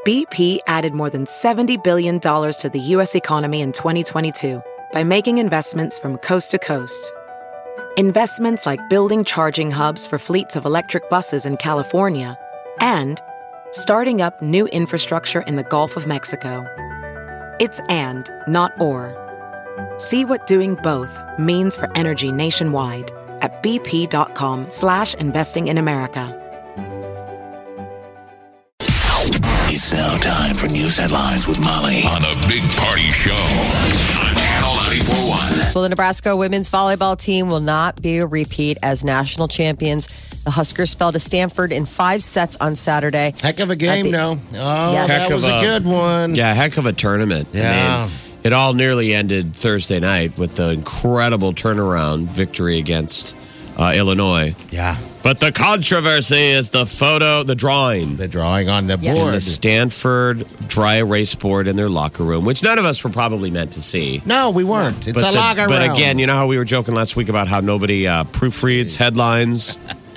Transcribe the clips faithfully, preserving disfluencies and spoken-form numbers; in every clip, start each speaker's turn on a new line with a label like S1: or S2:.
S1: B P added more than seventy billion dollars to the U S economy in twenty twenty-two by making investments from coast to coast. Investments like building charging hubs for fleets of electric buses in California and starting up new infrastructure in the Gulf of Mexico. It's and, not or. See what doing both means for energy nationwide at bp.com slash investing in America.
S2: It's now time for news headlines with Molly on a big party show on Channel ninety-four point one.
S3: Well, the Nebraska women's volleyball team will not be a repeat as national champions. The Huskers fell to Stanford in five sets on Saturday.
S4: Heck of a game,
S3: the,
S4: though. Oh,
S3: yes.
S4: that was a, a good one.
S5: Yeah, heck of a tournament.
S4: Yeah.
S5: I mean, it all nearly ended Thursday night with the incredible turnaround victory against uh, Illinois.
S4: Yeah.
S5: But the controversy is the photo, the drawing.
S4: The drawing on the
S3: Yes.
S4: board.
S5: The Stanford dry erase board in their locker room, which none of us were probably meant to see.
S4: No, we weren't. It's
S5: but
S4: a
S5: the-
S4: locker
S5: But
S4: room.
S5: again, you know how we were joking last week about how nobody uh, proofreads headlines?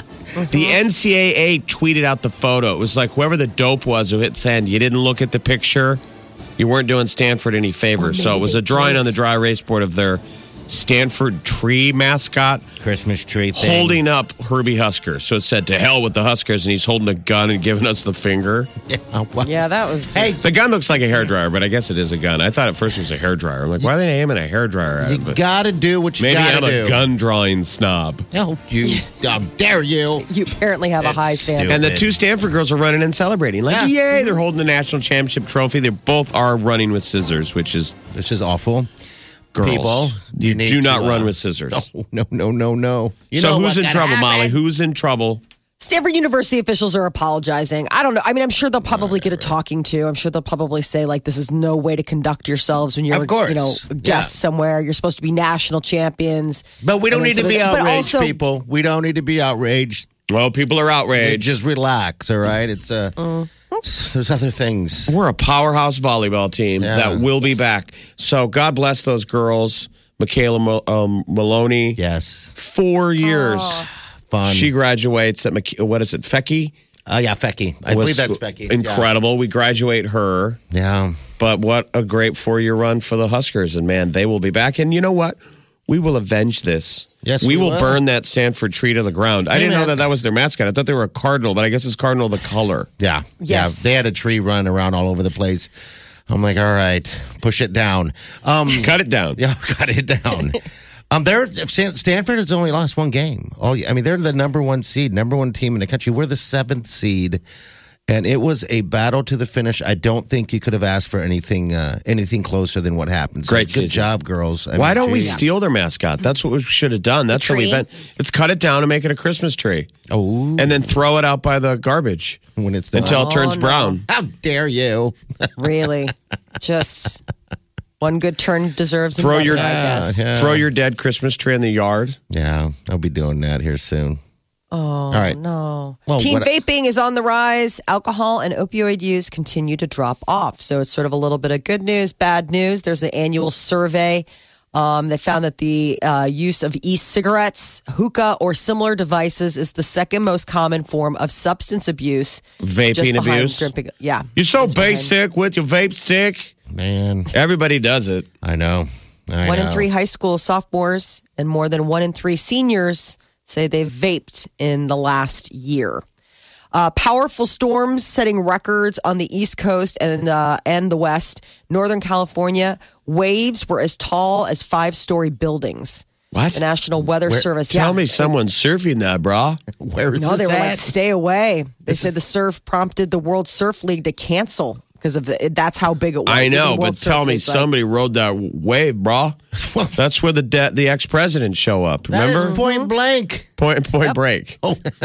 S5: The N C double A tweeted out the photo. It was like whoever the dope was who hit send, you didn't look at the picture. You weren't doing Stanford any favors. So it was a drawing on the dry erase board of their Stanford tree mascot
S4: Christmas tree thing.
S5: holding up Herbie Husker. So it said, to hell with the Huskers, and he's holding a gun and giving us the finger.
S4: Yeah, well,
S3: Yeah, that was just...
S4: Hey,
S5: The gun looks like a hairdryer, but I guess it is a gun. I thought at first it was a hairdryer. I'm like, why are they aiming a hairdryer at
S4: you
S5: it? But
S4: got to do what you
S5: maybe
S4: got
S5: I'm
S4: to do.
S5: a gun drawing snob.
S4: Oh, you. How dare you.
S3: You apparently have a high
S4: It's
S3: standard.
S5: And the
S4: Stupid.
S5: two Stanford girls are running and celebrating. Like,
S4: Yeah.
S5: yay, they're holding the national championship trophy. They both are running with scissors, which is
S4: This is awful.
S5: girls.
S4: People,
S5: you,
S4: need
S5: do not
S4: to,
S5: run
S4: uh,
S5: with scissors.
S4: No, no, no, no, no. You
S5: so
S4: know
S5: who's
S4: what
S5: in
S4: gotta
S5: trouble,
S4: happen?
S5: Molly? Who's in trouble?
S3: Stanford University officials are apologizing. I don't know. I mean, I'm sure they'll probably get a talking to. I'm sure they'll probably say, like, this is no way to conduct yourselves when you're,
S4: Of course.
S3: you know, a guest
S4: Yeah.
S3: somewhere. You're supposed to be national champions.
S4: But we don't
S3: And
S4: need
S3: then
S4: to
S3: so
S4: be
S3: they- but
S4: outraged,
S3: also-
S4: people. We don't need to be outraged.
S5: Well, people are
S4: Hey,
S5: outraged.
S4: just relax, all right? It's uh,
S3: Mm.
S4: there's other things.
S5: We're a powerhouse volleyball team
S4: Yeah.
S5: that will be back. So God bless those girls. Michaela Mo- um, Maloney,
S4: Yes,
S5: four years.
S4: fun.
S5: She graduates at, Mc- what is it, Fecky?
S4: Oh yeah, Fecky. I
S5: Was
S4: believe that's Fecky.
S5: Incredible. We graduate her.
S4: Yeah.
S5: But what a great four-year run for the Huskers. And, man, they will be back. And you know what? We will avenge this.
S4: Yes,
S5: we
S4: we
S5: will
S4: will.
S5: burn that Stanford tree to the ground. I
S4: Hey,
S5: didn't know
S4: man.
S5: that that was their mascot. I thought they were a cardinal, but I guess it's cardinal the color.
S4: Yeah.
S3: Yes.
S4: Yeah. They had a tree run around all over the place. I'm like, all right, push it down. Um,
S5: Cut it down.
S4: yeah, cut it down. um, they're Stan- Stanford has only lost one game. Oh, I mean, they're the number one seed, number one team in the country. We're the seventh seed, and it was a battle to the finish. I don't think you could have asked for anything, uh, anything closer than what happened. So
S5: Great
S4: good
S5: season.
S4: job, girls. I
S5: Why
S4: mean,
S5: don't we
S4: geez.
S5: steal their mascot? That's what we should have done. That's what
S3: tree?
S5: we've been. Let's cut it down and make it a Christmas tree.
S4: Oh,
S5: And then throw it out by the garbage
S4: when it's the
S5: until it turns
S3: no.
S5: brown.
S4: How dare you?
S3: Really. Just one good turn deserves
S5: Throw
S3: another,
S5: your-
S3: I guess.
S4: Yeah.
S5: Throw your dead Christmas tree in the yard.
S4: Yeah, I'll be doing that here soon.
S3: Oh,
S4: All right.
S3: no.
S4: Well,
S3: Teen
S4: what-
S3: vaping is on the rise. Alcohol and opioid use continue to drop off. So it's sort of a little bit of good news, bad news. There's an annual survey. Um, they found that the uh, use of e-cigarettes, hookah, or similar devices is the second most common form of substance abuse.
S5: Vaping
S3: just behind
S5: abuse.
S3: dripping- yeah.
S5: You're so
S3: Just behind-
S5: basic with your vape stick.
S4: Man,
S5: Everybody does it.
S4: I know. I
S3: One
S4: know.
S3: in three high school sophomores and more than one in three seniors say they've vaped in the last year. Uh, powerful storms setting records on the East Coast and uh, and the West. Northern California, waves were as tall as five-story buildings.
S5: What?
S3: The National Weather Service.
S5: Tell
S3: yeah.
S5: me someone's surfing that, brah.
S4: Where is
S3: No,
S4: this
S3: they were
S4: at?
S3: like, stay away. They said the surf prompted the World Surf League to cancel because of the, that's how big it was.
S5: I
S3: So the
S5: know,
S3: World
S5: but
S3: Surf
S5: tell me
S3: League's like,
S5: somebody rode that wave, brah. That's where the de- the ex-presidents show up.
S4: That
S5: Remember?
S4: is point blank.
S5: Point point break.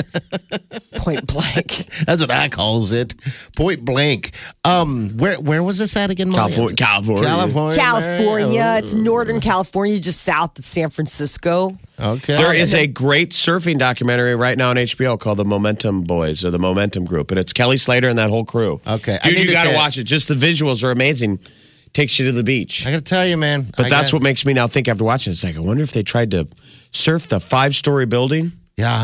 S3: point blank.
S4: That's what I calls it. Point blank. Um, where where was this at again? Molly?
S5: California. California.
S4: California.
S3: California.
S4: Oh.
S3: It's Northern California, just south of San Francisco.
S4: Okay.
S5: There is a great surfing documentary right now on H B O called The Momentum Boys or The Momentum Group, and it's Kelly Slater and that whole crew.
S4: Okay, I
S5: Dude,
S4: need
S5: you
S4: to
S5: got
S4: say
S5: to
S4: it.
S5: watch it. Just the visuals are amazing. Takes you to the beach.
S4: I got to tell you, man.
S5: But
S4: I
S5: that's
S4: got-
S5: what makes me now think after watching it. It's like, I wonder if they tried to surf the five story building.
S4: Yeah.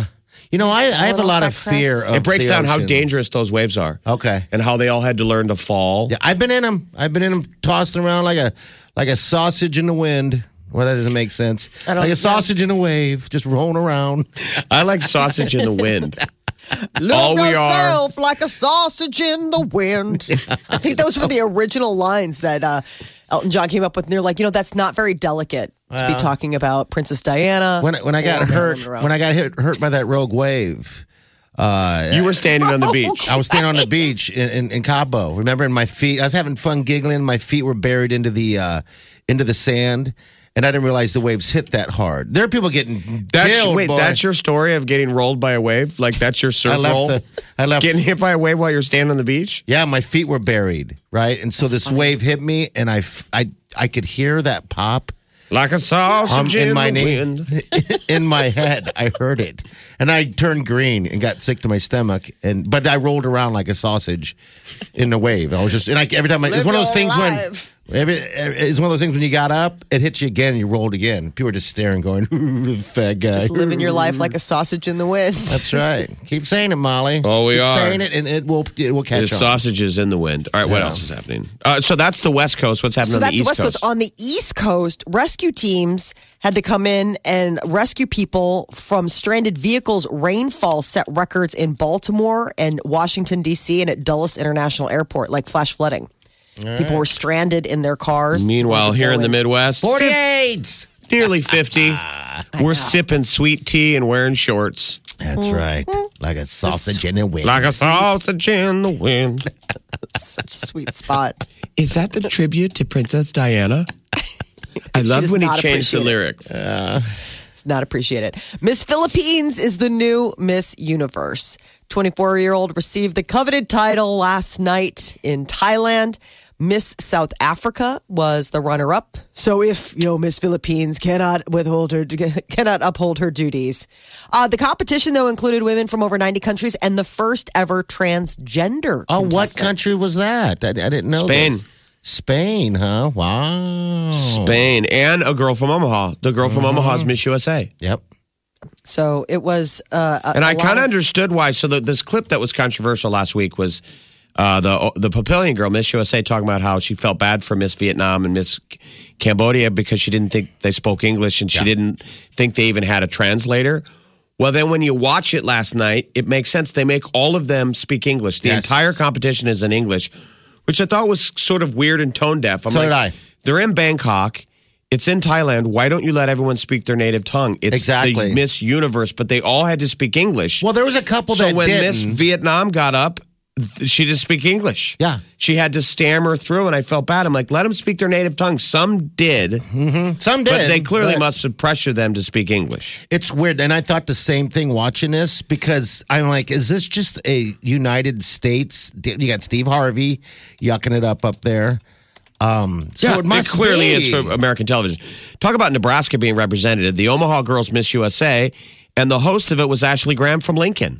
S4: You know, I, I have a
S3: off
S4: lot
S3: that
S4: of fear
S3: crest.
S4: of
S5: It breaks
S4: the
S5: down how
S4: ocean.
S5: dangerous those waves are.
S4: Okay.
S5: And how they all had to learn to fall.
S4: Yeah, I've been in them. I've been in them, tossed around like a like a sausage in the wind. Well, that doesn't make sense.
S3: I don't-
S4: Like a sausage in a wave, just rolling around.
S5: I like sausage in the wind.
S3: Look
S5: All we are-
S3: yourself like a sausage in the wind. I think those were the original lines that uh, Elton John came up with. And they're like, you know, that's not very delicate to be
S4: Well.
S3: talking about Princess Diana.
S4: When when I got
S3: or
S4: hurt,
S3: Marilyn Monroe.
S4: when I got hit, hurt by that rogue wave, uh,
S5: You were standing on the beach.
S4: I was standing on the beach in, in, in Cabo. Remember, and my feet. I was having fun giggling. My feet were buried into the uh, into the sand, and I didn't realize the waves hit that hard. There are people getting
S5: That's,
S4: killed.
S5: wait,
S4: boy.
S5: that's your story of getting rolled by a wave? Like that's your surf
S4: I left
S5: roll?
S4: the. I left.
S5: Getting hit by a wave while you're standing on the beach?
S4: Yeah, my feet were buried, right, and so this wave hit me, and I, f- I, I could hear that pop.
S5: Like a sausage
S4: Um, in
S5: in
S4: my
S5: the
S4: knee.
S5: wind.
S4: in my head. I heard it, and I turned green and got sick to my stomach. And but I rolled around like a sausage in the wave. I was just and I, every time I, it's
S3: Live
S4: one of those
S3: your
S4: things
S3: life.
S4: when every, it's one of those things when you got up, it hits you again, and you rolled again. People are just staring, going, "Ooh, fat guy."
S3: Just living your life like a sausage in the wind.
S4: That's right. Keep saying it, Molly.
S5: Oh, we
S4: Keep
S5: are.
S4: saying it, and it will it will catch
S5: There's
S4: on.
S5: sausages in the wind. All right, what
S4: Yeah.
S5: else is happening? Uh, so that's the West Coast. What's happening
S3: So
S5: on the
S3: that's the
S5: East
S3: West
S5: Coast?
S3: Coast. On the East Coast, rescue teams had to come in and rescue people from stranded vehicles. Rainfall set records in Baltimore and Washington, D C, and at Dulles International Airport, like flash flooding. People were stranded in their cars.
S5: Meanwhile, here in the Midwest,
S4: Forty-eight.
S5: nearly fifty. We're sipping sweet tea and wearing shorts.
S4: That's right. Like a sausage in the wind.
S5: Like a sausage in the wind.
S3: Such a sweet spot.
S5: Is that the tribute to Princess Diana? I
S3: She
S5: love
S3: does
S5: when he
S3: not
S5: changed the
S3: appreciate it.
S5: lyrics.
S3: It's not appreciated. Miss Philippines is the new Miss Universe. twenty-four-year-old received the coveted title last night in Thailand. Miss South Africa was the runner-up. So if, you know, Miss Philippines cannot withhold her, cannot uphold her duties. Uh, the competition, though, included women from over ninety countries and the first ever transgender
S4: Oh, what
S3: contestant.
S4: country was that? I, I didn't know.
S5: Spain.
S4: this. Spain, huh? Wow.
S5: Spain and a girl from Omaha. The girl from Omaha is Miss U S A.
S4: Yep.
S3: So it was uh, a,
S5: And
S3: a
S5: I
S3: lot
S5: kind of
S3: of-
S5: understood why. So the, this clip that was controversial last week was uh, the the Papillion girl, Miss U S A, talking about how she felt bad for Miss Vietnam and Miss Cambodia because she didn't think they spoke English and she didn't think they even had a translator. Well, then when you watch it last night, it makes sense. They make all of them speak English. The
S4: Yes.
S5: entire competition is in English, which I thought was sort of weird and tone deaf. I'm
S4: So
S5: like,
S4: did I.
S5: They're in Bangkok. It's in Thailand. Why don't you let everyone speak their native tongue? It's
S4: Exactly.
S5: the Miss Universe, but they all had to speak English.
S4: Well, there was a couple
S5: so
S4: that
S5: when
S4: didn't.
S5: Miss Vietnam got up, th- she didn't speak English.
S4: Yeah.
S5: She had to stammer through, and I felt bad. I'm like, let them speak their native tongue. Some did,
S4: Some did.
S5: but they clearly
S4: but
S5: must have pressured them to speak English.
S4: It's weird. And I thought the same thing watching this because I'm like, is this just a United States? You got Steve Harvey yucking it up up there. Um, so
S5: Yeah,
S4: it must
S5: clearly
S4: be.
S5: it's for American television. Talk about Nebraska being represented. The Omaha girls Miss U S A, and the host of it was Ashley Graham from Lincoln.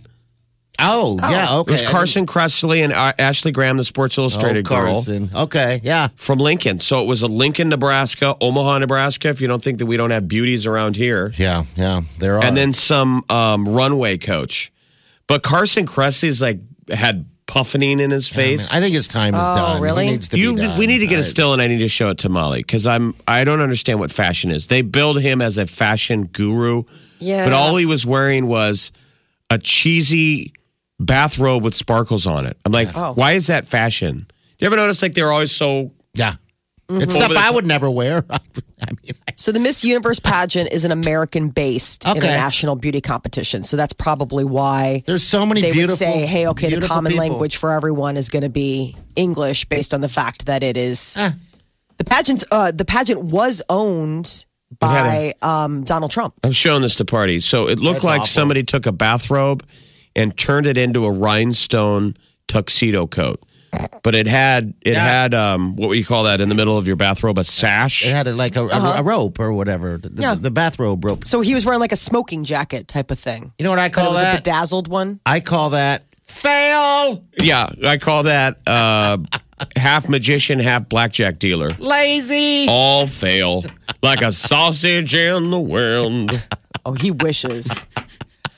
S4: Oh, yeah. Okay.
S5: It was Carson Kressley and uh, Ashley Graham, the Sports
S4: Oh,
S5: Illustrated girl.
S4: Carson. Okay. Yeah.
S5: From Lincoln. So it was a Lincoln, Nebraska, Omaha, Nebraska, if you don't think that we don't have beauties around here.
S4: Yeah. Yeah. There are.
S5: And then some um, runway coach. But Carson Kressley's like had puffering in his face.
S4: I think his time is
S3: Oh,
S4: done. He
S3: really?
S4: needs to
S5: you,
S4: be done.
S5: we need to get
S4: I-
S5: a still, and I need to show it to Molly because I'm I don't understand what fashion is. They build him as a fashion guru,
S3: Yeah.
S5: but all he was wearing was a cheesy bathrobe with sparkles on it. I'm like,
S3: Oh.
S5: why is that fashion? Do you ever notice like they're always so?
S4: Yeah.
S3: Mm-hmm.
S4: It's stuff
S5: Over the
S4: I
S5: top.
S4: would never wear. I mean,
S3: So the Miss Universe pageant is an American-based
S4: Okay.
S3: international beauty competition. So that's probably why
S4: there's so many
S3: they
S4: beautiful.
S3: would say, "Hey, okay, the
S4: beautiful
S3: common
S4: people.
S3: language for everyone is going to be English," based on the fact that it is
S4: Eh.
S3: the pageant. Uh, the pageant was owned by um, Donald Trump.
S5: I'm showing this to party. So it looked
S4: That's
S5: like
S4: awful.
S5: somebody took a bathrobe and turned it into a rhinestone tuxedo coat. But it had it
S4: Yeah.
S5: had um what would you call that in the middle of your bathrobe? A sash.
S4: It had a, like a, a- a rope or whatever. The, the-
S3: Yeah.
S4: the bathrobe rope.
S3: So he was wearing like a smoking jacket type of thing.
S4: You know what I
S3: But it
S4: call
S3: was a
S4: that?
S3: bedazzled one.
S4: I call that fail.
S5: Yeah, I call that uh half magician, half blackjack dealer.
S4: Lazy.
S5: All fail. Like a sausage in the wind.
S3: Oh, he wishes.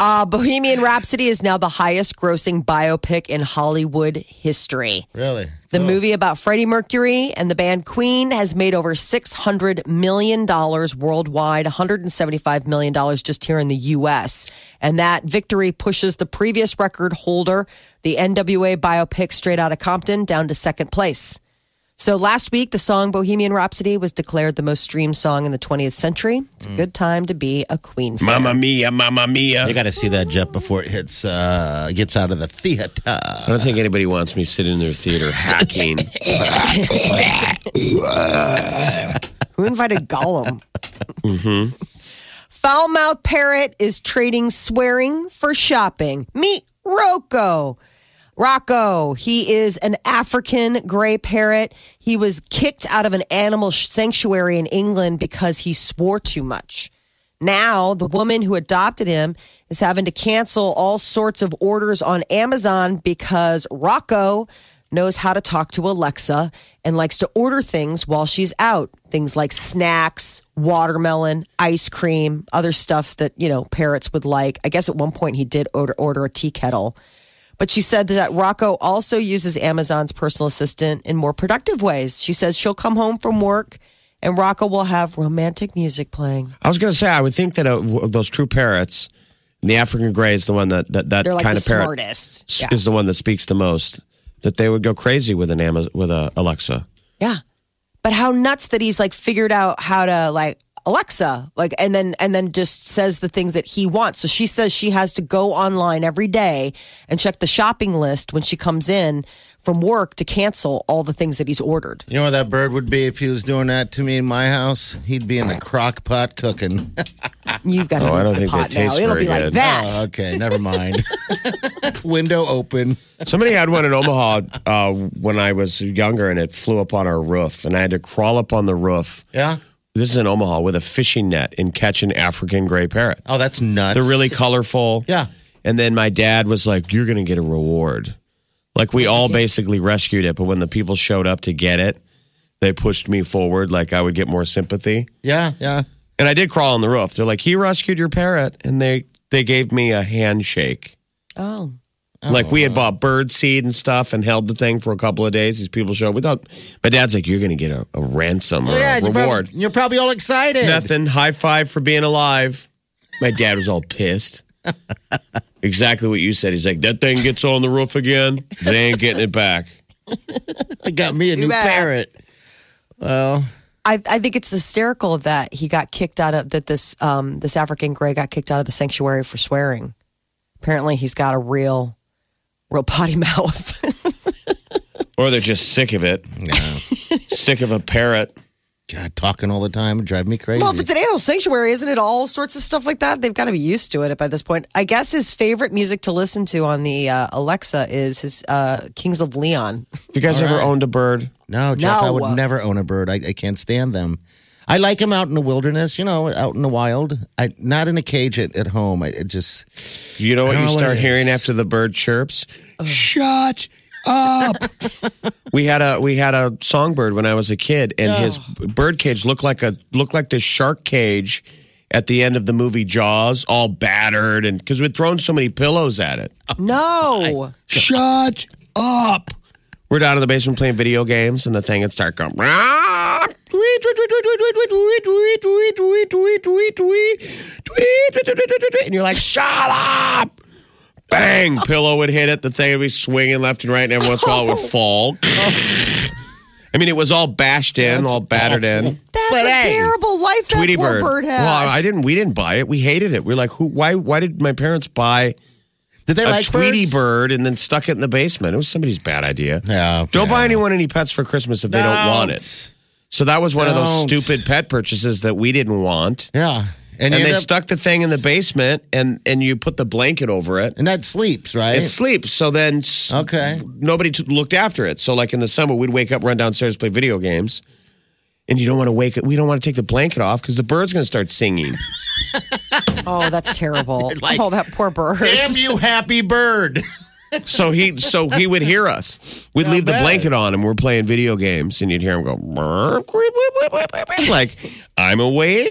S3: Uh, Bohemian Rhapsody is now the highest grossing biopic in Hollywood history.
S4: Really?
S3: The
S4: Cool.
S3: movie about Freddie Mercury and the band Queen has made over six hundred million dollars worldwide, one hundred seventy-five million dollars just here in the U S. And that victory pushes the previous record holder, the N W A biopic Straight Outta Compton, down to second place. So last week, the song Bohemian Rhapsody was declared the most streamed song in the twentieth century. It's a good time to be a Queen fan.
S5: Mamma mia, mamma mia.
S4: You got to see that, Jeff, before it hits, uh, gets out of the theater.
S5: I don't think anybody wants me sitting in their theater hacking.
S3: Who invited Gollum? mm-hmm. Foul-mouthed parrot is trading swearing for shopping. Meet Rocco. Rocco, he is an African gray parrot. He was kicked out of an animal sanctuary in England because he swore too much. Now, the woman who adopted him is having to cancel all sorts of orders on Amazon because Rocco knows how to talk to Alexa and likes to order things while she's out. Things like snacks, watermelon, ice cream, other stuff that, you know, parrots would like. I guess at one point he did order, order a tea kettle. But she said that Rocco also uses Amazon's personal assistant in more productive ways. She says she'll come home from work and Rocco will have romantic music playing.
S5: I was going to say, I would think that uh, those true parrots, the African gray is the one that that, that
S3: They're like
S5: kind
S3: the
S5: of parrot
S3: smartest.
S5: s-
S3: Yeah.
S5: is the one that speaks the most. That they would go crazy with an Amazon, with a Alexa.
S3: Yeah. But how nuts that he's like figured out how to like Alexa, like, and then, and then just says the things that he wants. So she says she has to go online every day and check the shopping list when she comes in from work to cancel all the things that he's ordered.
S4: You know where that bird would be if he was doing that to me in my house? He'd be in the crock pot cooking.
S3: You've got to
S5: Oh, I don't
S3: rinse the
S5: think that
S3: pot now.
S5: tastes
S3: It'll
S5: very
S3: be like
S5: good.
S3: that.
S4: Oh, okay, never mind. Window open.
S5: Somebody had one in Omaha uh, when I was younger, and it flew up on our roof, and I had to crawl up on the roof.
S4: Yeah?
S5: This is in Omaha with a fishing net and catch an African gray parrot.
S4: Oh, that's nuts.
S5: They're really colorful.
S4: Yeah.
S5: And then my dad was like, "You're going to get a reward." Like we all basically rescued it, but when the people showed up to get it, they pushed me forward like I would get more sympathy.
S4: Yeah, yeah.
S5: And I did crawl on the roof. They're like, "He rescued your parrot," and they they gave me a handshake.
S3: Oh.
S5: Like we had bought bird seed and stuff and held the thing for a couple of days. These people showed up. We thought, my dad's like, "You're going to get a, a ransom or
S4: yeah,
S5: a
S4: you're
S5: reward."
S4: Probably, you're probably all excited.
S5: Nothing. High five for being alive. My dad was all pissed. Exactly what you said. He's like, "That thing gets on the roof again, they ain't getting it back."
S4: It got me a
S3: Too
S4: new
S3: bad.
S4: parrot. Well,
S3: I, I think it's hysterical that he got kicked out of that this um, this African gray got kicked out of the sanctuary for swearing. Apparently, he's got a real, real potty mouth.
S5: Or they're just sick of it.
S4: yeah.
S5: Sick of a parrot.
S4: God, talking all the time would drive me crazy.
S3: Well, if it's an animal sanctuary, isn't it all sorts of stuff like that? They've got to be used to it by this point. I guess his favorite music to listen to on the uh, Alexa is his uh, Kings of Leon.
S5: You guys
S4: All
S5: ever
S4: right.
S5: owned a bird?
S4: No, Jeff, I
S3: No.
S4: would never own a bird. I, I can't stand them. I like them out in the wilderness, you know, out in the wild. I not in a cage at, at home. I it just
S5: You know what
S4: I don't
S5: you
S4: know what
S5: start
S4: it is.
S5: hearing after the bird chirps? Shut up. we had a we had a songbird when I was a kid, and his bird cage looked like a looked like the shark cage at the end of the movie Jaws, all battered, and because we'd thrown so many pillows at it.
S3: No.
S5: Shut up. We're down in the basement playing video games, and the thing would start going. "Rah, tweet, tweet, tweet, tweet, tweet, tweet, tweet, tweet, tweet, tweet, tweet, tweet, tweet, tweet, tweet, tweet, tweet," and you're like, "Shut up!" Bang! Pillow would hit it. The thing would be swinging left and right, and every once in a while it would fall. I mean, it was all bashed in, all battered in.
S3: That's
S4: But
S3: a
S4: hey,
S3: terrible life that
S5: Tweety
S3: poor
S5: bird.
S3: bird has.
S5: Well, I didn't. We didn't buy it. We hated it. We are like, who? Why? Why did my parents buy
S4: did they
S5: a
S4: like
S5: Tweety
S4: birds?
S5: bird and then stuck it in the basement? It was somebody's bad idea.
S4: Yeah,
S5: Don't
S4: yeah.
S5: buy anyone any pets for Christmas if they don't want it. So that was one of those
S4: Don't.
S5: stupid pet purchases that we didn't want.
S4: Yeah, and,
S5: And
S4: you
S5: they
S4: end up-
S5: stuck the thing in the basement, and and you put the blanket over it.
S4: and that sleeps right.
S5: It sleeps. So then s-
S4: Okay.
S5: nobody t- looked after it. So like in the summer, we'd wake up, run downstairs, play video games. And you don't want to wake it. We don't want to take the blanket off because the bird's going to start singing.
S3: Oh, that's terrible.
S4: Like,
S3: oh, that poor bird.
S4: Damn you, happy bird!
S5: So he so he would hear us. We'd
S4: Not
S5: leave the
S4: bad.
S5: blanket on and we're playing video games, and you'd hear him go, "Burp, queep, queep, queep, queep, queep," like, "I'm awake."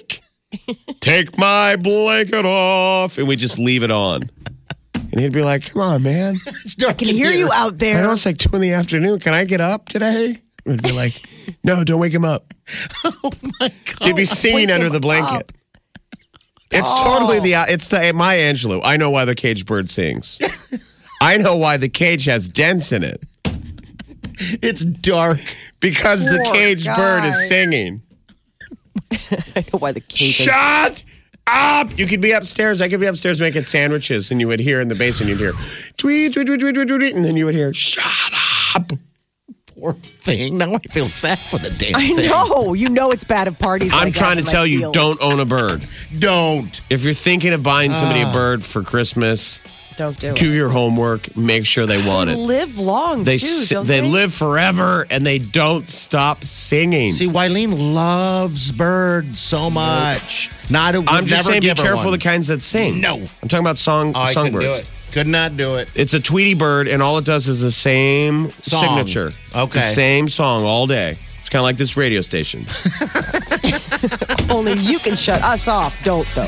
S5: take my blanket off. And we just leave it on. And he'd be like, come on, man.
S3: I can hear you out
S5: I
S3: there.
S5: know it's like two in the afternoon. Can I get up today? We'd be like, no, don't wake him up.
S4: Oh my God.
S5: To be singing
S3: wake
S5: under
S3: him
S5: the blanket.
S3: up.
S5: It's
S3: Oh.
S5: totally the, it's the Maya Angelou. I know why the caged bird sings. I know why the cage has dents in it.
S4: It's dark.
S5: Because the
S3: Poor
S5: caged
S3: guy.
S5: bird is singing.
S3: I know why the cage.
S5: Shut up! You could be upstairs. I could be upstairs making sandwiches, and you would hear in the basement, you'd hear tweet, tweet, tweet, tweet, tweet, tweet, and then you would hear, shut up.
S4: Poor thing. Now I feel sad for the damn
S3: I
S4: thing.
S3: know. You know it's bad at parties.
S5: I'm
S3: like
S5: trying
S3: that
S5: to
S3: in
S5: tell
S3: my
S5: you,
S3: feels.
S5: don't own a bird.
S4: Don't.
S5: If you're thinking of buying somebody a bird for Christmas,
S3: Don't do
S5: do
S3: it.
S5: your homework. Make sure they want
S3: They
S5: it.
S3: live long
S5: They
S3: too.
S5: si-
S3: don't
S5: they
S3: they
S5: live forever, and they don't stop singing.
S4: See, Wileen loves birds so much. Not.
S5: I'm
S4: would
S5: just
S4: never
S5: saying, be
S4: give her
S5: careful
S4: one.
S5: of the kinds that sing.
S4: No.
S5: I'm talking about song
S4: Oh, I couldn't do
S5: songbirds.
S4: it. Could not do it.
S5: It's a Tweety bird, and all it does is the same
S4: Song.
S5: signature.
S4: Okay.
S5: It's the same song all day. It's kind of like this radio station.
S3: Only you can shut us off. Don't though.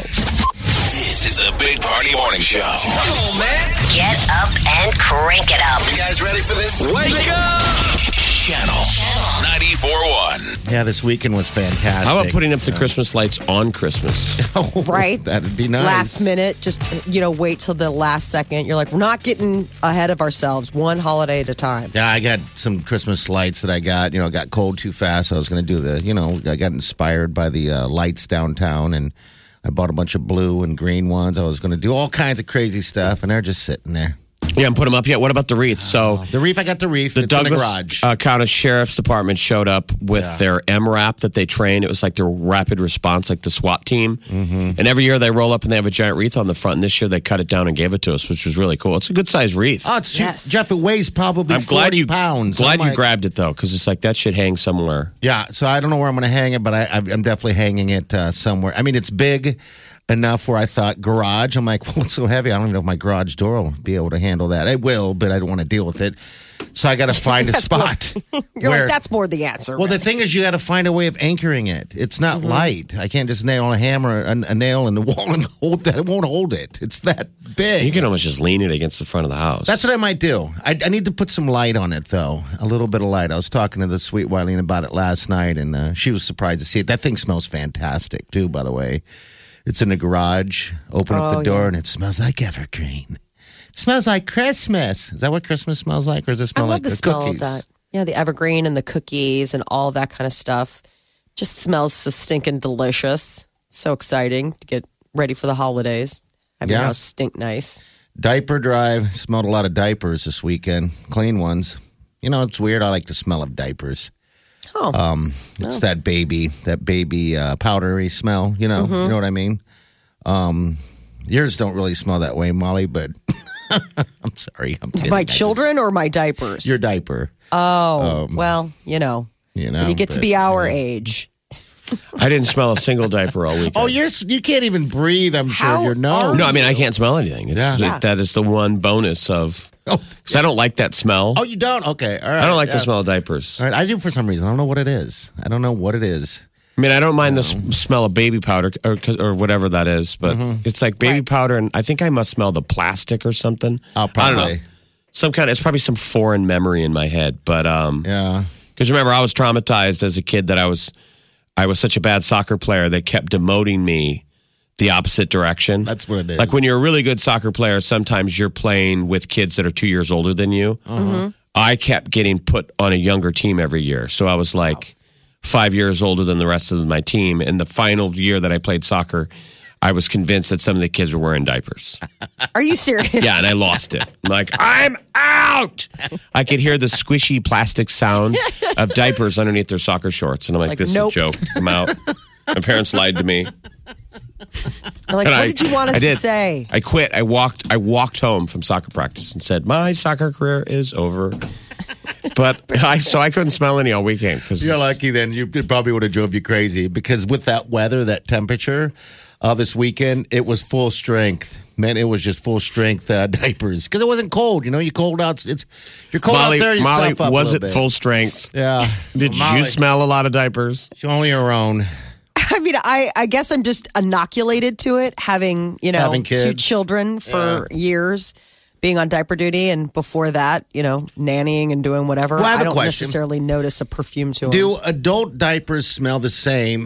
S2: This is the Big Party Morning Show.
S6: Come on, man.
S7: Get up and crank it up.
S6: You guys ready for this? Wake up!
S2: Channel ninety-four point one.
S4: Yeah, this weekend was fantastic.
S5: How about putting up the Christmas lights on Christmas?
S4: Oh,
S3: Right?
S4: That'd be nice.
S3: Last minute, just you know, wait till the last second. You're like, we're not getting ahead of ourselves. One holiday at a time.
S4: Yeah, I got some Christmas lights that I got. You know, it got cold too fast. I was going to do the, you know, I got inspired by the uh, lights downtown, and I bought a bunch of blue and green ones. I was going to do all kinds of crazy stuff, and they're just sitting there.
S5: You haven't put them up yet. What about the wreaths? So
S4: The reef, I got the reef.
S5: the
S4: it's in the
S5: Douglas
S4: garage.
S5: uh, County Sheriff's Department showed up with
S4: Yeah.
S5: their M RAP that they train. It was like their rapid response, like the SWAT team. Mm-hmm. And every year they roll up and they have a giant wreath on the front. And this year they cut it down and gave it to us, which was really cool. It's a good sized wreath.
S4: oh, it's
S3: Yes.
S4: Jeff, it weighs probably
S5: I'm
S4: forty
S5: glad you
S4: pounds.
S5: Glad
S4: I'm
S5: you
S4: like-
S5: grabbed it though, because it's like that should hang somewhere.
S4: Yeah, so I don't know where I'm going to hang it, but I, I'm definitely hanging it uh, somewhere. I mean, it's big enough where I thought garage. I'm like, well, it's so heavy. I don't even know if my garage door will be able to handle that. It will, but I don't want to deal with it. So I got to find a
S3: That's
S4: spot.
S3: You're
S4: where-
S3: like, that's more the answer.
S4: Well, the
S3: right?
S4: thing is, you got to find a way of anchoring it. It's not
S3: Mm-hmm.
S4: light. I can't just nail a hammer, a, a nail in the wall and hold that. It won't hold it. It's that big.
S5: You can almost just lean it against the front of the house.
S4: That's what I might do. I, I need to put some light on it, though. A little bit of light. I was talking to the sweet Wileen about it last night, and uh, she was surprised to see it. That thing smells fantastic, too, by the way. It's in the garage. Open up
S3: Oh,
S4: the door,
S3: yeah.
S4: and it smells like evergreen. It smells like Christmas. Is that what Christmas smells like, or does it
S3: I
S4: smell
S3: love
S4: like
S3: the
S4: the
S3: smell
S4: cookies?
S3: of that. Yeah, the evergreen and the cookies and all that kind of stuff. Just smells so stinking delicious. So exciting to get ready for the holidays. Have your
S4: Yeah.
S3: house stink nice.
S4: Diaper drive. Smelled a lot of diapers this weekend. Clean ones. You know, it's weird. I like the smell of diapers.
S3: Oh,
S4: Um, it's that baby, that baby uh, powdery smell. You know, you know what I mean. Um, yours don't really smell that way, Molly. But I'm sorry, I'm kidding.
S3: my
S4: I just-
S3: children or my diapers?
S4: your diaper.
S3: oh, well, you know,
S4: You know,
S3: when you get to
S4: but,
S3: be our
S4: you know.
S3: age.
S5: I didn't smell a single diaper all weekend.
S4: Oh, you're you can't even breathe. I'm sure
S3: How
S4: your nose.
S3: are
S5: No, I mean I can't smell anything. It's
S4: Yeah.
S3: Yeah.
S5: that is the one bonus of
S4: Oh,
S5: because I don't like that smell.
S4: oh, you don't? Okay, all right.
S5: I don't like
S4: yeah.
S5: the smell of diapers.
S4: All right, I do for some reason. I don't know what it is. I don't know what it is.
S5: I mean, I don't mind the s- smell of baby powder or, or whatever that is, but
S4: Mm-hmm.
S5: it's like baby powder, and I think I must smell the plastic or something.
S4: Oh,
S5: I don't know.
S4: probably.
S5: Some kind. It's probably some foreign memory in my head, but um,
S4: Yeah.
S5: because remember, I was traumatized as a kid that I was, I was such a bad soccer player. They kept demoting me the opposite direction.
S4: That's what it is.
S5: Like when you're a really good soccer player, sometimes you're playing with kids that are two years older than you. I kept getting put on a younger team every year. So I was like five years older than the rest of my team. And the final year that I played soccer, I was convinced that some of the kids were wearing diapers.
S3: Are you serious?
S5: Yeah, and I lost it. I'm like, I'm out. I could hear the squishy plastic sound of diapers underneath their soccer shorts. And I'm like,
S3: Like,
S5: this
S3: nope.
S5: is a joke. I'm out. My parents lied to me.
S3: I'm like,
S5: And
S3: what
S5: I-
S3: did you want us
S5: I did.
S3: to say?
S5: I quit. I walked. I walked home from soccer practice and said, "My soccer career is over." But I so I couldn't smell any all weekend because
S4: You're lucky then. You it probably would have drove you crazy because with that weather, that temperature, uh, this weekend, it was full strength. Man, it was just full strength uh, diapers because it wasn't cold. You know, you cold out. It's you're cold
S5: Molly,
S4: out there. You
S5: Molly,
S4: stuff up a
S5: was
S4: little
S5: it
S4: bit.
S5: full strength?
S4: Yeah.
S5: Did
S4: Molly,
S5: you smell a lot of diapers?
S4: Only your own.
S3: I mean, I, I guess I'm just inoculated to it, having, you know,
S4: Having
S3: two
S4: kids.
S3: children for years, being on diaper duty, and before that, you know, nannying and doing whatever.
S4: Well, I have a
S3: don't
S4: question.
S3: necessarily notice a perfume to them.
S4: Do adult diapers smell the same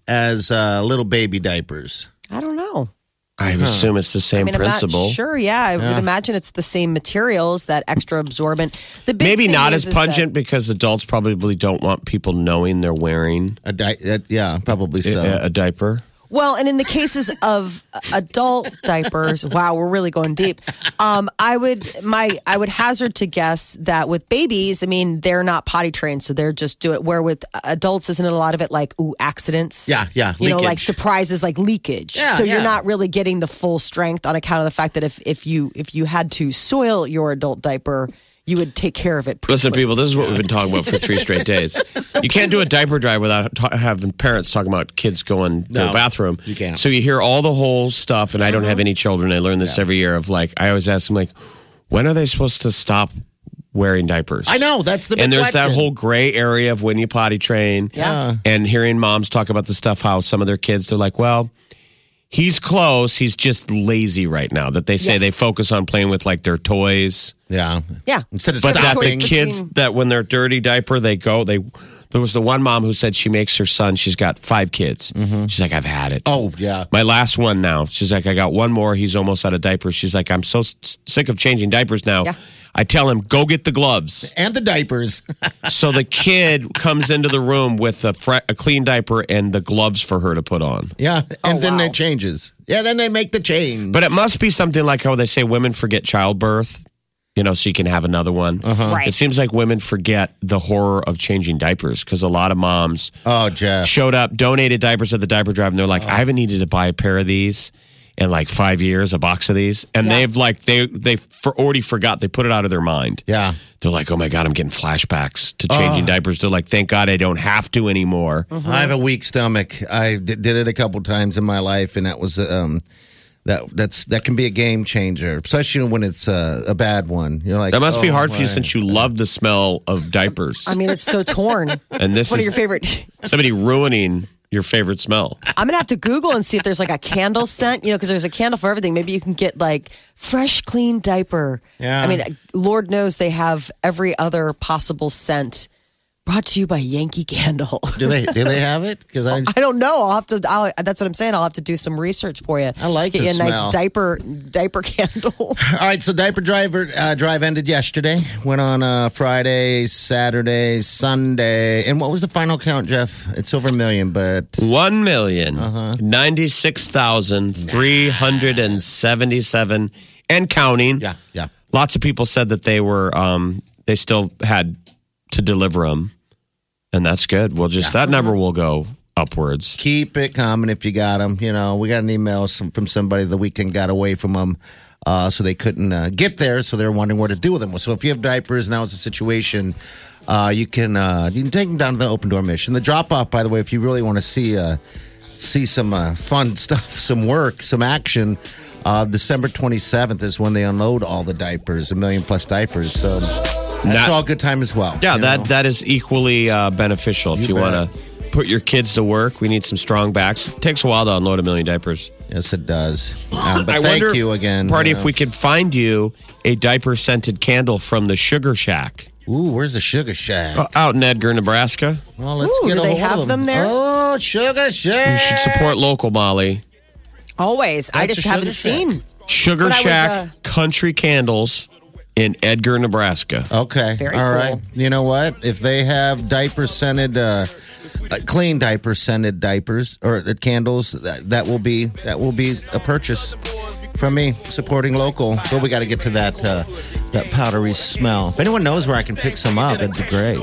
S4: as uh, little baby diapers?
S3: I don't know.
S5: I assume it's the same
S3: I mean,
S5: principle.
S3: I'm not sure. Yeah, I would imagine it's the same materials, that extra absorbent. The big
S5: Maybe
S3: thing
S5: not
S3: is,
S5: as
S3: is that-
S5: pungent because adults probably don't want people knowing they're wearing
S4: A di- uh, yeah, probably so.
S5: a, a diaper.
S3: Well, and in the cases of adult diapers, wow, we're really going deep. Um, I would my I would hazard to guess that with babies, I mean, they're not potty trained, so they're just do it. Where with adults, isn't it a lot of it like ooh accidents?
S4: Yeah, yeah,
S3: You know, like
S4: leakage.
S3: surprises, like leakage.
S4: Yeah,
S3: so
S4: yeah.
S3: you're not really getting the full strength on account of the fact that if if you if you had to soil your adult diaper, you would take care of it.
S5: Listen, people, this is what we've been talking about for three straight days. You can't do a diaper drive without ta- having parents talking about kids going to
S4: No,
S5: the bathroom.
S4: you can't.
S5: So you hear all the whole stuff, and I don't have any children. I learn this every year of like, I always ask them, like, when are they supposed to stop wearing diapers?
S4: I know, that's the big
S5: And there's that
S4: question.
S5: whole gray area of when you potty train.
S3: Yeah.
S5: And hearing moms talk about the stuff, how some of their kids, they're like, well, he's close. He's just lazy right now. That they say
S3: Yes.
S5: they focus on playing with like their toys.
S4: Yeah.
S3: Yeah.
S4: Instead of
S5: But that
S4: stopping.
S5: the kids that when they're dirty diaper, they go. They there was the one mom who said she makes her son. She's got five kids. She's like, I've had it.
S4: Oh, yeah.
S5: My last one now. She's like, I got one more. He's almost out of diapers. She's like, I'm so s- sick of changing diapers now.
S3: Yeah.
S5: I tell him, go get the gloves.
S4: And the diapers.
S5: So the kid comes into the room with a, fre- a clean diaper and the gloves for her to put on.
S4: Yeah. And
S3: Oh,
S4: then
S3: wow.
S4: it changes. Yeah, then they make the change.
S5: But it must be something like how they say women forget childbirth, you know, so you can have another one.
S3: Right.
S5: It seems like women forget the horror of changing diapers because a lot of moms
S4: Oh, Jeff.
S5: showed up, donated diapers at the diaper drive, and they're like, I haven't needed to buy a pair of these in like five years, a box of these. And
S3: Yeah.
S5: they've like, they they for, already forgot. They put it out of their mind.
S4: Yeah.
S5: They're like, oh my God, I'm getting flashbacks to changing diapers. They're like, thank God I don't have to anymore.
S4: I have a weak stomach. I d- did it a couple times in my life, and that was um, that that's that can be a game changer, especially when it's uh, a bad one. You're like,
S5: That must be
S4: oh,
S5: hard for you
S4: my.
S5: since you love the smell of diapers.
S3: I mean, it's so torn.
S5: and this
S3: One of
S5: is
S3: your favorite.
S5: somebody ruining your favorite smell.
S3: I'm gonna have to Google and see if there's like a candle scent, you know, because there's a candle for everything. Maybe you can get like fresh, clean diaper.
S4: Yeah.
S3: I mean, Lord knows they have every other possible scent. Brought to you by Yankee Candle.
S4: Do they do they have it? Because I
S3: I don't know. I'll have to. I'll, that's what I'm saying. I'll have to do some research for you.
S4: I like
S3: get
S4: the
S3: you a
S4: smell.
S3: nice diaper diaper candle.
S4: All right, so diaper driver uh, drive ended yesterday. Went on uh, Friday, Saturday, Sunday, and what was the final count, Jeff? It's over a million, but
S5: One million
S4: Uh-huh.
S5: ninety-six thousand three hundred and seventy-seven and counting.
S4: yeah, yeah.
S5: Lots of people said that they were um they still had to deliver them, and that's good. Well, just that number will go upwards.
S4: Keep it coming if you got them. You know, we got an email some, from somebody the weekend got away from them, uh, so they couldn't uh, get there. So they're wondering what to do with them. So if you have diapers, now it's a situation. Uh, you can uh, you can take them down to the open door mission. The drop off, by the way, if you really want to see uh, see some uh, fun stuff, some work, some action. Uh, December twenty-seventh is when they unload all the diapers, a million plus diapers. So that's
S5: That-
S4: all good time as well.
S5: Yeah,
S4: you
S5: that
S4: know?
S5: that is equally uh, beneficial if
S4: You
S5: you want
S4: bet.
S5: to put your kids to work. We need some strong backs. It takes a while to unload a million diapers.
S4: Yes, it does. Um, but
S5: I
S4: thank
S5: wonder,
S4: you again.
S5: Party,
S4: you
S5: if
S4: know.
S5: we could find you a diaper scented candle from the Sugar Shack
S4: Ooh, where's the Sugar Shack?
S5: uh, out in Edgar, Nebraska.
S4: Well, let's
S3: Ooh,
S4: get
S3: do
S4: a
S3: they
S4: hold
S3: have
S4: of
S3: them there?
S4: Oh, Sugar Shack.
S5: You should support local, Molly.
S3: Always. I
S4: That's
S3: just
S4: a
S3: haven't
S4: Sugar Shack.
S3: seen.
S5: Sugar
S3: But I was,
S5: Shack
S3: uh,
S5: Country Candles in Edgar, Nebraska.
S4: Okay.
S3: Very
S4: All right.
S3: cool.
S4: You know what? If they have diaper scented, uh, uh, clean diaper scented diapers or uh, candles, that, that will be that will be a purchase from me supporting local. But we got to get to that uh, that powdery smell. If anyone knows where I can pick some up, that'd be great.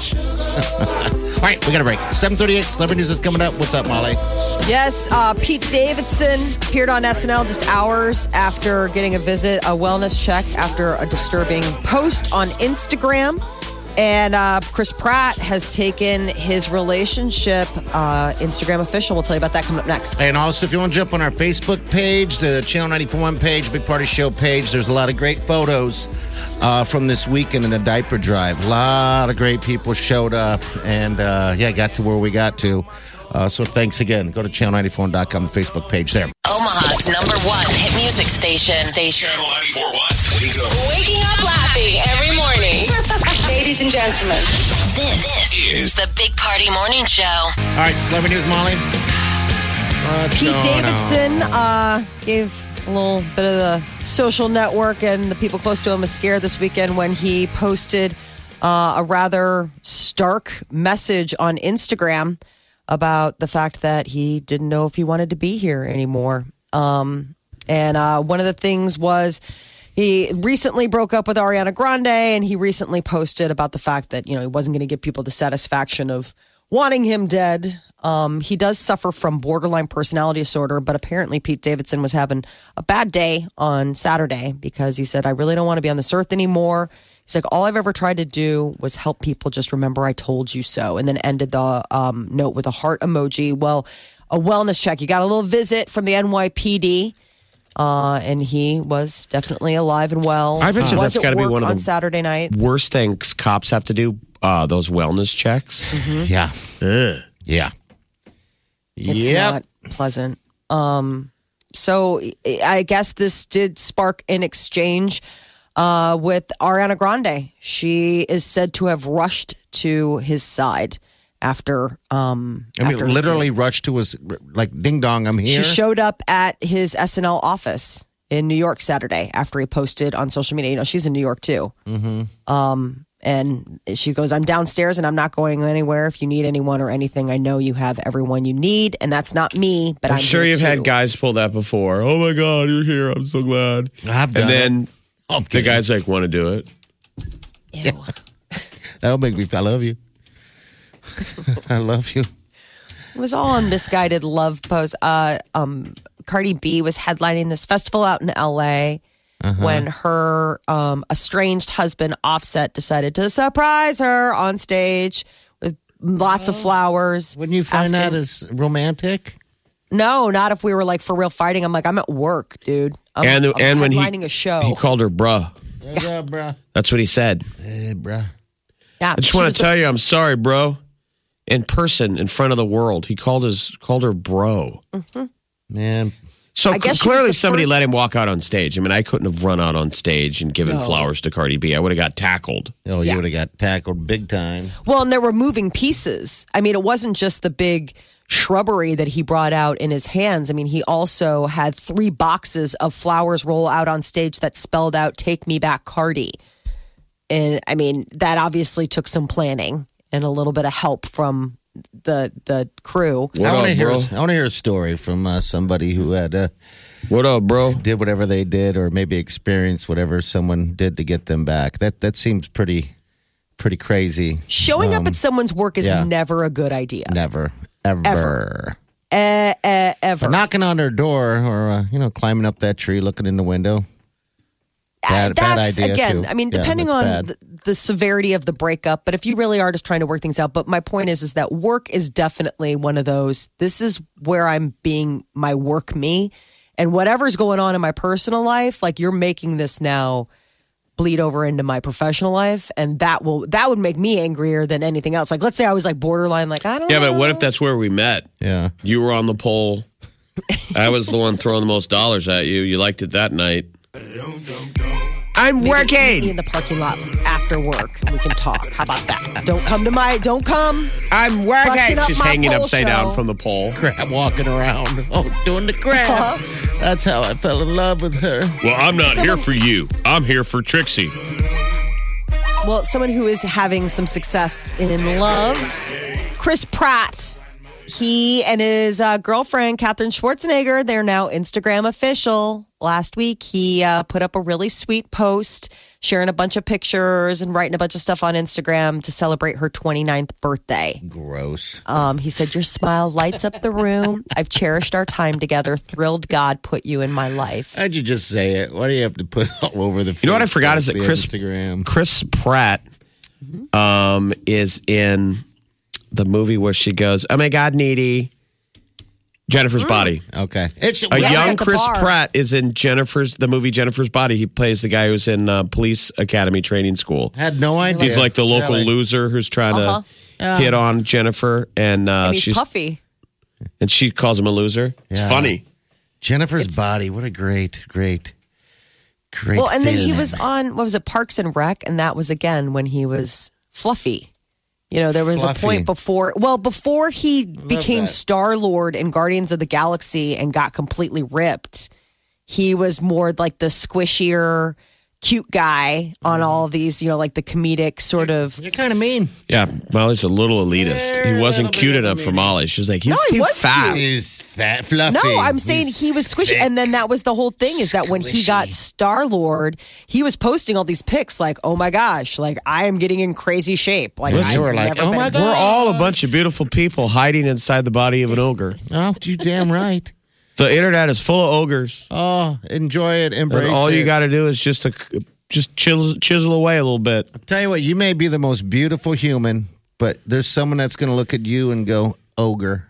S4: All right, we got a break. seven thirty-eight, Celebrity News is coming up. What's up, Molly?
S3: Yes, uh, Pete Davidson appeared on S N L just hours after getting a visit, a wellness check after a disturbing post on Instagram. And uh, Chris Pratt has taken his relationship uh, Instagram official. We'll tell you about that coming up next.
S4: And also, if you want to jump on our Facebook page, the Channel ninety-four point one page, Big Party Show page, there's a lot of great photos uh, from this weekend in a diaper drive. A lot of great people showed up and, uh, yeah, got to where we got to. Uh, so thanks again. Go to channel ninety-four dot com, the Facebook page there.
S7: Omaha's number one hit music station. Station.
S2: Channel ninety-four point one. Wake up.
S7: Waking up laughing every morning. Ladies and gentlemen, this, this is the Big Party Morning Show.
S4: All right, celebrity news, Molly. What's
S3: Pete
S4: going
S3: Davidson
S4: on?
S3: uh, gave a little bit of the social network and the people close to him a scare this weekend when he posted uh, a rather stark message on Instagram about the fact that he didn't know if he wanted to be here anymore. Um, and uh, one of the things was he recently broke up with Ariana Grande, and he recently posted about the fact that, you know, he wasn't going to give people the satisfaction of wanting him dead. Um, he does suffer from borderline personality disorder, but apparently Pete Davidson was having a bad day on Saturday because he said, I really don't want to be on this earth anymore. He's like, all I've ever tried to do was help people just remember I told you so, and then ended the um, note with a heart emoji. Well, a wellness check. You got a little visit from the N Y P D, uh, and he was definitely alive and well.
S5: I bet
S3: He
S5: you
S3: was
S5: that's
S3: at
S5: gotta be
S3: work
S5: one of
S3: on
S5: the-
S3: Saturday night.
S5: Worst things cops have to do, uh, those wellness checks.
S4: Yeah. Ugh. Yeah.
S3: It's
S4: Yep.
S3: not pleasant. Um, so I guess this did spark an exchange uh, with Ariana Grande. She is said to have rushed to his side after. Um,
S4: I mean,
S3: after
S4: literally rushed to his, like, ding dong, I'm here.
S3: She showed up at his S N L office in New York Saturday after he posted on social media. You know, she's in New York too. Mm-hmm. Um, and she goes, I'm downstairs and I'm not going anywhere. If you need anyone or anything, I know you have everyone you need. And that's not me, but I'm,
S5: I'm sure
S3: here
S5: you've
S3: too.
S5: had guys pull that before. Oh my God, you're here. I'm so glad.
S4: I've done
S5: And then
S4: it. I'm
S5: the
S4: kidding.
S5: guy's like, want to do it?
S3: Ew.
S4: That'll make me, I love you. I love you.
S3: It was all on misguided love pose. Uh, um, Cardi B was headlining this festival out in L A when her um, estranged husband, Offset, decided to surprise her on stage with lots of flowers.
S4: Wouldn't you find that
S3: asking-
S4: as romantic?
S3: No, not if we were like for real fighting. I'm like, I'm at work, dude. I'm,
S5: and
S3: I'm
S5: and when he
S3: headlining a show.
S5: he called her bruh.
S4: Yeah, bruh.
S5: That's what he said.
S4: Hey, bruh.
S3: yeah,
S5: I just
S3: she
S5: want
S3: was
S5: to
S3: the
S5: tell you, I'm sorry, bro. In person, in front of the world, he called his called her bro.
S4: Man.
S5: So
S3: I guess she
S5: clearly,
S3: was the
S5: somebody
S3: first-
S5: let him walk out on stage. I mean, I couldn't have run out on stage and given
S3: No.
S5: flowers to Cardi B. I would have got tackled.
S4: Oh, you
S3: Yeah.
S4: would have got tackled big time.
S3: Well, and there were moving pieces. I mean, it wasn't just the big shrubbery that he brought out in his hands. I mean, he also had three boxes of flowers roll out on stage that spelled out "Take Me Back, Cardi." And I mean, that obviously took some planning and a little bit of help from the the crew.
S5: What
S4: I want to
S5: up,
S4: hear.
S5: bro?
S4: I want to hear a story from uh, somebody who had uh,
S5: What up, bro?
S4: did whatever they did, or maybe experienced whatever someone did to get them back. That that seems pretty pretty crazy.
S3: Showing up
S4: Um,
S3: at someone's work is
S4: yeah.
S3: never a good idea.
S4: Never, ever,
S3: Ever. Eh, eh, ever.
S4: But knocking on their door, or uh, you know, climbing up that tree, looking in the window. Bad, bad
S3: That's
S4: idea,
S3: again.
S4: too.
S3: I mean,
S4: Yeah,
S3: depending
S4: that's
S3: on
S4: bad.
S3: the, the severity of the breakup, but if you really are just trying to work things out. But my point is, is that work is definitely one of those. This is where I'm being my work me, and whatever's going on in my personal life, like you're making this now bleed over into my professional life, and that will that would make me angrier than anything else. Like, let's say I was like borderline, like I don't.
S5: Yeah,
S3: know.
S5: but what if that's where we met?
S4: Yeah.
S5: You were on the pole. I was the one throwing the most dollars at you. You liked it that night. I'm
S3: Maybe meet me in
S5: working.
S3: the parking lot after work, and we can talk. How about that? Don't come to my. Don't come.
S5: I'm working.
S3: Busting up
S5: She's
S3: my
S5: hanging
S3: pole
S5: upside
S3: show.
S5: down from the pole.
S4: Crab walking around. Oh, doing the crab.
S3: Uh-huh.
S4: That's how I fell in love with her.
S5: Well, I'm not
S3: Someone-
S5: here for you. I'm here for Trixie.
S3: Well, someone who is having some success in love, Chris Pratt. He and his uh, girlfriend, Katherine Schwarzenegger, they're now Instagram official. Last week, he uh, put up a really sweet post, sharing a bunch of pictures and writing a bunch of stuff on Instagram to celebrate her twenty-ninth birthday.
S4: Gross.
S3: Um, he said, your smile lights up the room. I've cherished our time together. Thrilled God put you in my life.
S4: How'd you just say it? Why do you have to put all over the?
S5: You know what I
S4: Facebook,
S5: forgot is that
S4: the
S5: Chris
S4: Instagram.
S5: Chris Pratt um, is in the movie where she goes, "Oh my God, needy." Jennifer's Body.
S4: Okay, it's
S5: A
S3: Yeah,
S5: young
S3: at the
S5: Chris
S3: bar.
S5: Pratt is in Jennifer's the movie Jennifer's Body. He plays the guy who's in uh, police academy training school.
S4: had no idea.
S5: He's like the local
S4: Really?
S5: loser who's trying
S3: Uh-huh.
S5: to hit on Jennifer, and uh,
S3: And he's
S5: she's
S3: puffy.
S5: And she calls him a loser. It's
S4: Yeah.
S5: funny.
S4: Jennifer's body. What a great, great, great.
S3: Well, and then he
S4: film.
S3: was on, what was it, Parks and Rec? And that was, again, when he was fluffy. You know, there was
S4: Fluffy.
S3: a point before, well, before he became
S4: that.
S3: Star-Lord in Guardians of the Galaxy and got completely ripped, he was more like the squishier, cute guy on all of these, you know, like the comedic sort of.
S4: You're kind of mean.
S5: Yeah, Molly's a little elitist. He wasn't cute enough for Molly. She was like, he's
S3: No, he
S5: too
S3: was
S5: fat.
S3: cute.
S4: He's fat, fluffy.
S3: No, I'm saying
S4: He's
S3: he was squishy.
S4: thick.
S3: And then that was the whole thing is that when he got
S4: Squishy.
S3: Star Lord, he was posting all these pics like, oh my gosh, like I am getting in crazy shape. Like,
S5: Listen,
S3: I've
S4: you were like,
S3: never
S4: oh
S3: been-
S4: my God.
S5: We're all a bunch of beautiful people hiding inside the body of an ogre.
S4: Oh, you damn right.
S5: The internet is full of ogres.
S4: Oh, enjoy it, embrace
S5: And all
S4: it.
S5: you got to do is just a, just chisel, chisel away a little bit.
S4: Tell you what, you may be the most beautiful human, but there's someone that's going to look at you and go, ogre.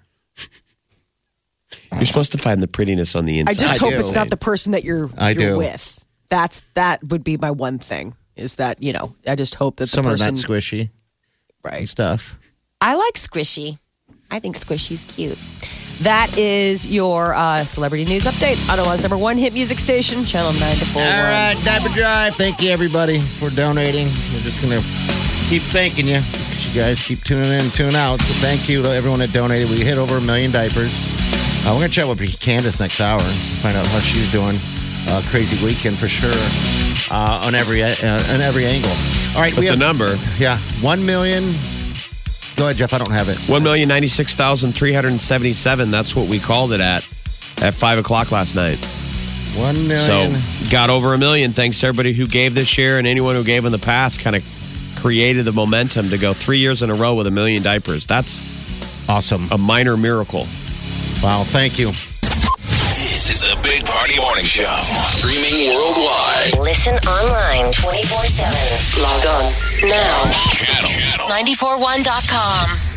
S5: You're supposed to find the prettiness on the
S3: I
S5: inside.
S3: just hope
S4: do.
S3: it's not the person that you're,
S4: I
S3: you're
S4: do.
S3: with. That's that would be my one thing is that, you know, I just hope that the
S4: Someone
S3: person
S4: not squishy
S3: right.
S4: and stuff.
S3: I like squishy. I think squishy's cute. That is your uh, celebrity news update. Ottawa's number one hit music station, Channel nine to four.
S4: All right, Diaper Drive. Thank you, everybody, for donating. We're just going to keep thanking you because you guys keep tuning in and tuning out. So thank you to everyone that donated. We hit over a million diapers. Uh, we're going to chat with Candace next hour and find out how she's doing. Uh, crazy weekend for sure uh, on every uh, on every angle. All right,
S5: But
S4: we
S5: the
S4: have
S5: number,
S4: yeah one million. Go ahead, Jeff. I don't have it.
S5: one million ninety-six thousand three hundred seventy-seven. That's what we called it at at five o'clock last night.
S4: One million.
S5: So got over a million. Thanks to everybody who gave this year and anyone who gave in the past. Kind of created the momentum to go three years in a row with a million diapers. That's
S4: awesome.
S5: a minor miracle.
S4: Wow, thank you.
S2: This is the Big Party Morning Show. Streaming worldwide.
S7: Listen online twenty-four seven. Log on now.
S2: Channel.
S7: nine four one dot com.